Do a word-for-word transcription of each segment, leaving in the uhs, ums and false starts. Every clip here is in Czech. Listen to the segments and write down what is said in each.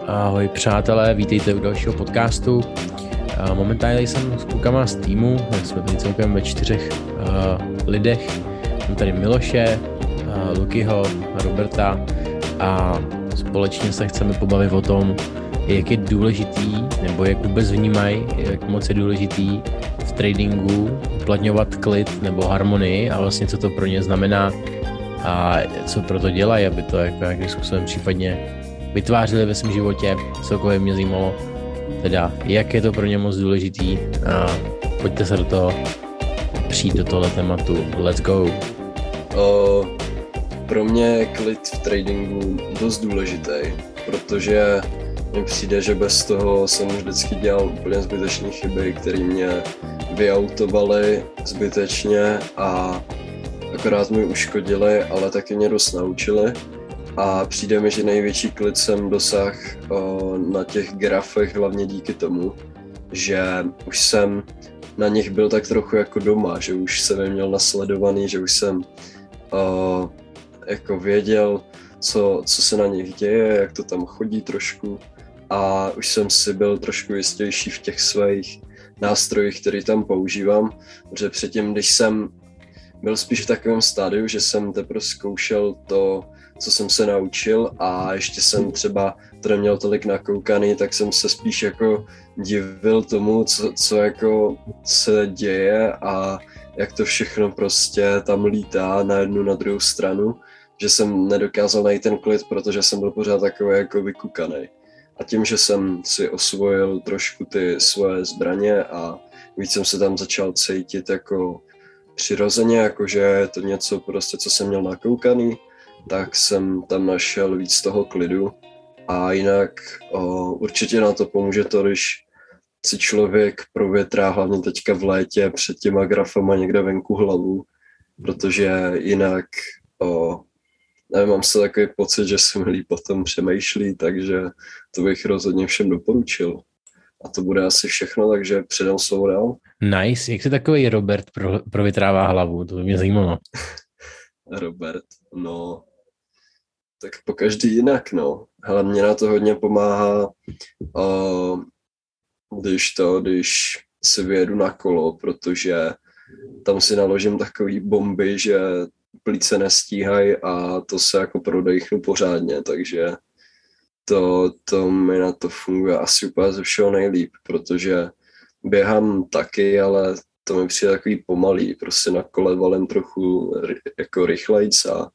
Ahoj přátelé, vítejte u dalšího podcastu. Momentálně jsem s klukama z týmu, jsme tady celkem ve čtyřech uh, lidech. Mám tady Miloše, uh, Lukyho, Roberta a společně se chceme pobavit o tom, jak je důležitý, nebo jak vůbec vnímají, jak moc je důležitý v tradingu uplatňovat klid nebo harmonii a vlastně co to pro ně znamená a co pro to dělají, aby to jako nějakým způsobem případně vytvářeli ve svém životě. Celkově mě zajímalo teda, jak je to pro ně moc důležitý a pojďte se do toho přijít do tohle tématu. Let's go! O, pro mě je klid v tradingu dost důležitý, protože mně přijde, že bez toho jsem už vždycky dělal úplně zbytečné chyby, které mě vyautovaly zbytečně a akorát mi uškodily, ale taky mě dost naučily. A přijde mi, že největší klid jsem dosáhl na těch grafech hlavně díky tomu, že už jsem na nich byl tak trochu jako doma, že už jsem je měl nasledovaný, že už jsem o, jako věděl, co, co se na nich děje, jak to tam chodí trošku a už jsem si byl trošku jistější v těch svých nástrojích, které tam používám, protože předtím, když jsem byl spíš v takovém stádiu, že jsem teprve zkoušel to, co jsem se naučil a ještě jsem třeba to neměl tolik nakoukaný, tak jsem se spíš jako divil tomu, co, co jako se děje a jak to všechno prostě tam lítá na jednu, na druhou stranu, že jsem nedokázal najít ten klid, protože jsem byl pořád takový jako vykukaný. A tím, že jsem si osvojil trošku ty svoje zbraně a víc jsem se tam začal cítit jako přirozeně, jakože je to něco prostě, co jsem měl nakoukaný, tak jsem tam našel víc toho klidu a jinak o, určitě na to pomůže to, když si člověk provětrá hlavně teďka v létě před těma grafama někde venku hlavu, protože jinak o, nevím, mám se takový pocit, že se mi líp potom přemýšlí, takže to bych rozhodně všem doporučil. A to bude asi všechno, takže předám slovo dál. Nice, jak se takový Robert pro, provětrává hlavu, to by mě zajímalo. Robert, no, tak po každý jinak, no. Hele, mě na to hodně pomáhá, uh, když to, když si vyjedu na kolo, protože tam si naložím takový bomby, že plíce nestíhají a to se jako prodechnu pořádně, takže to, to mi na to funguje asi úplně ze všeho nejlíp, protože běhám taky, ale to mi přijde takový pomalý, prostě na kole valem trochu jako rychlejc a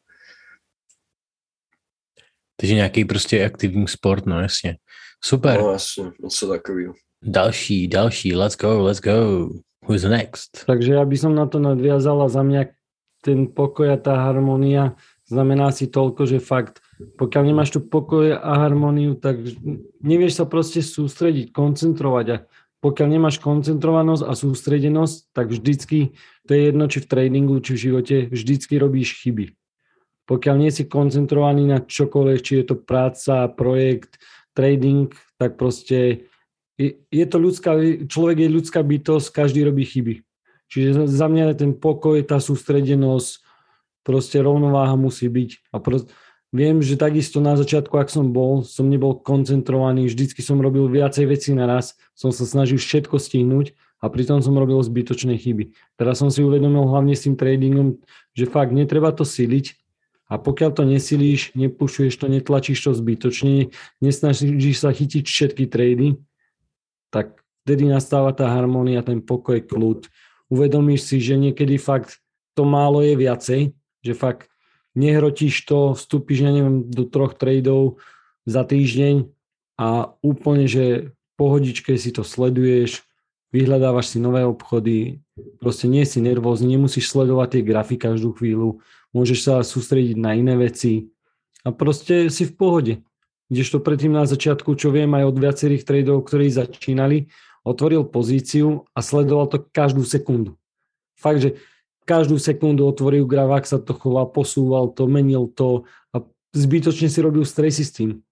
Takže nějaký prostě aktivní sport, no jasně. Super. No jasně, něco takového. Další, další, let's go, let's go. Who's next? Takže ja by som na to nadviazal a za mňa ten pokoj a tá harmónia znamená si toľko, že fakt, pokiaľ nemáš tu pokoj a harmóniu, tak nevieš sa proste sústrediť, koncentrovať a pokiaľ nemáš koncentrovanosť a sústredenosť, tak vždycky, to je jedno, či v tradingu, či v živote, vždycky robíš chyby. Pokiaľ nie si koncentrovaný na čokoľvek, či je to práca, projekt, trading, tak proste je, je to ľudská, človek je ľudská bytosť, každý robí chyby. Čiže za mňa je ten pokoj, tá sústredenosť, proste rovnováha musí byť. A proste, viem, že takisto na začiatku, ak som bol, som nebol koncentrovaný, vždycky som robil viacej vecí naraz, som sa snažil všetko stihnúť a pritom som robil zbytočné chyby. Teraz som si uvedomil hlavne s tým tradingom, že fakt netreba to siliť a pokiaľ to nesilíš, nepušuješ to, netlačíš to zbytočne, nesnažíš sa chytiť všetky trady, tak vtedy nastáva tá harmónia, ten pokoj, kľud. Uvedomíš si, že niekedy fakt to málo je viacej, že fakt nehrotíš to, vstúpiš, ja neviem, do troch tradov za týždeň a úplne, že pohodičke si to sleduješ, vyhľadávaš si nové obchody, proste nie si nervózny, nemusíš sledovať tie grafy každú chvíľu, môžeš sa sústrediť na iné veci a proste si v pohode. Kdežto predtým na začiatku, čo viem aj od viacerých tradeov, ktorí začínali, otvoril pozíciu a sledoval to každú sekundu. Fakt, že každú sekundu otvoril graf, ak sa to choval, posúval to, menil to a zbytočne si robil stresy s tým.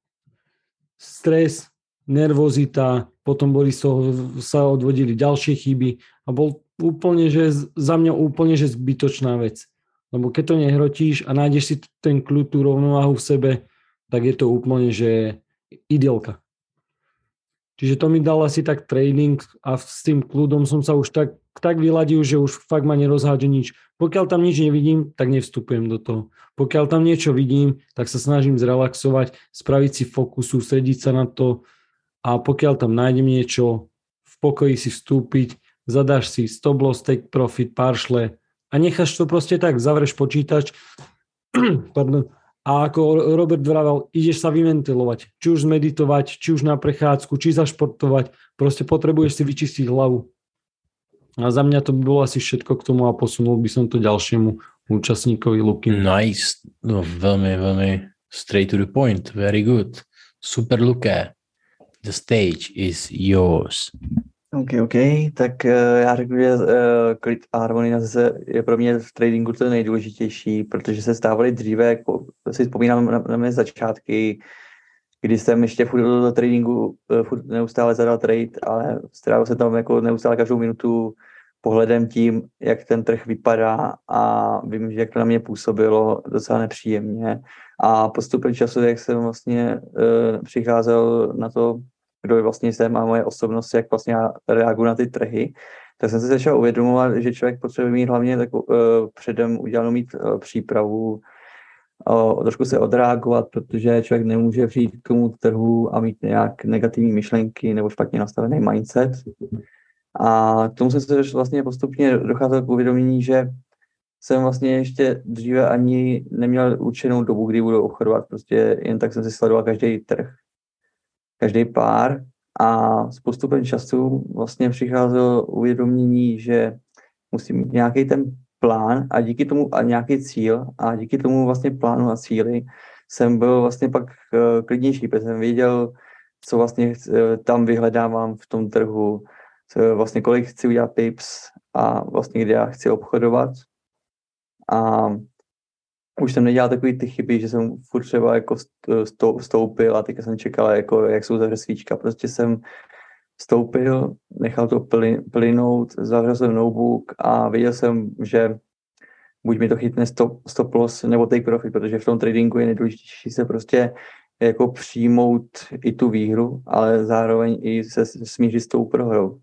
Stres, nervozita, potom boli z toho, sa odvodili ďalšie chyby a bol úplne, že za mňa úplne, že zbytočná vec. Lebo keď to nehrotíš a nájdeš si ten kľud, tú rovnováhu v sebe, tak je to úplne, že ideálka. Čiže to mi dal asi tak tréning a s tým kľudom som sa už tak, tak vyladil, že už fakt ma nerozhádže nič. Pokiaľ tam nič nevidím, tak nevstupujem do toho. Pokiaľ tam niečo vidím, tak sa snažím zrelaxovať, spraviť si fokus, sústrediť sa na to a pokiaľ tam nájdem niečo, v pokoji si vstúpiť, zadáš si stop loss, take profit, partial a necháš to proste tak, zavreš počítač pardon, a ako Robert vravel, ideš sa vyventilovať, či už zmeditovať, či už na prechádzku, či zašportovať, proste potrebuješ si vyčistiť hlavu. A za mňa to by bolo asi všetko k tomu a posunul by som to ďalšiemu účastníkovi Luky. Nice, no velmi, velmi straight to the point, very good. Super Luke, the stage is yours. OK, OK, tak uh, já řeknu, že uh, klid a harmonizace je pro mě v tradingu to nejdůležitější, protože se stávaly dříve, jako si vzpomínám na, na mé začátky, kdy jsem ještě furt do tradingu uh, furt neustále zadal trade, ale strávil se tam jako neustále každou minutu pohledem tím, jak ten trh vypadá a vím, že jak to na mě působilo docela nepříjemně. A postupem času, jak jsem vlastně uh, přicházel na to, kdo vlastně jsem a moje osobnost, jak vlastně já reaguju na ty trhy, tak jsem se začal uvědomovat, že člověk potřebuje mít hlavně tak, uh, předem udělanou mít uh, přípravu, uh, trošku se odreagovat, protože člověk nemůže přijít k tomu trhu a mít nějak negativní myšlenky nebo špatně nastavený mindset. A k tomu jsem se vlastně postupně docházel k uvědomění, že jsem vlastně ještě dříve ani neměl určenou dobu, kdy budu obchodovat, prostě jen tak jsem si sledoval každý trh, každý pár a s postupem času vlastně přicházelo uvědomění, že musím mít nějaký ten plán a díky tomu a nějaký cíl a díky tomu vlastně plánu a cíli jsem byl vlastně pak uh, klidnější, protože jsem věděl, co vlastně uh, tam vyhledávám v tom trhu, co, vlastně kolik chci udělat pips a vlastně kde já chci obchodovat a už jsem nedělal takový ty chyby, že jsem furt třeba jako vstoupil a teďka jsem čekal, jako, jak se uzavře svíčka. Prostě jsem vstoupil, nechal to plynout, zavřel jsem notebook a věděl jsem, že buď mi to chytne stop, stop loss nebo take profit, protože v tom tradingu je nejdůležitější se prostě jako přijmout i tu výhru, ale zároveň i se smířit s tou prohrou.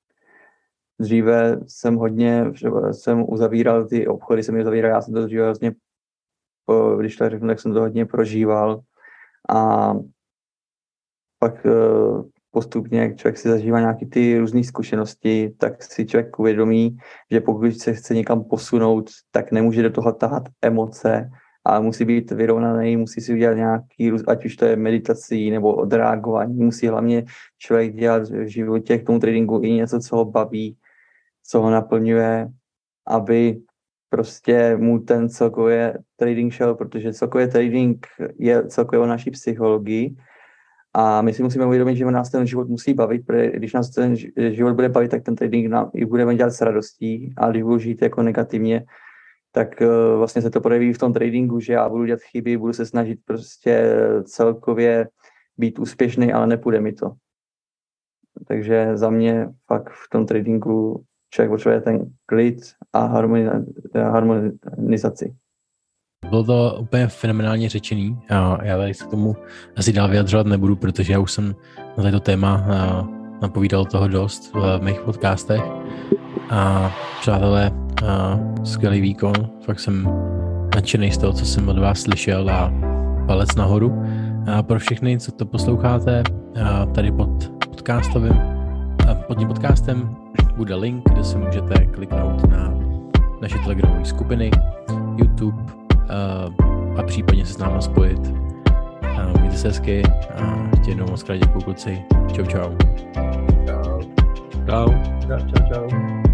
Dříve jsem hodně, jsem uzavíral ty obchody, jsem je uzavíral, já jsem to dříve vlastně když to řeknu, tak jsem to hodně prožíval a pak postupně, jak člověk si zažívá nějaké ty různé zkušenosti, tak si člověk uvědomí, že pokud se chce někam posunout, tak nemůže do toho tahat emoce, ale musí být vyrovnaný, musí si udělat nějaký, ať už to je meditací nebo odreagování, musí hlavně člověk dělat v životě k tomu tradingu i něco, co ho baví, co ho naplňuje, aby prostě mu ten celkově trading šel, protože celkově trading je celkově o naší psychologii a my si musíme uvědomit, že nás ten život musí bavit, protože když nás ten život bude bavit, tak ten trading nám i budeme dělat s radostí a když budu žít jako negativně, tak uh, vlastně se to projeví v tom tradingu, že já budu dělat chyby, budu se snažit prostě celkově být úspěšný, ale nepůjde mi to. Takže za mě fakt v tom tradingu člověk potřebuje ten klid a harmonizaci. Bylo to úplně fenomenálně řečený a já tady se k tomu asi dál vyjadřovat nebudu, protože já už jsem na toto téma napovídal toho dost v mých podcastech a přátelé, skvělý výkon, fakt jsem nadšený z toho, co jsem od vás slyšel a palec nahoru. A pro všechny, co to posloucháte, tady pod podcastovým, pod tím podcastem bude link, kde se můžete kliknout na naše telegramové skupiny, YouTube a případně se s námi spojit. Mějte se hezky a ještě jednou moc krát děkuju kluci. Čau, čau. Čau. Čau. Čau, čau, čau.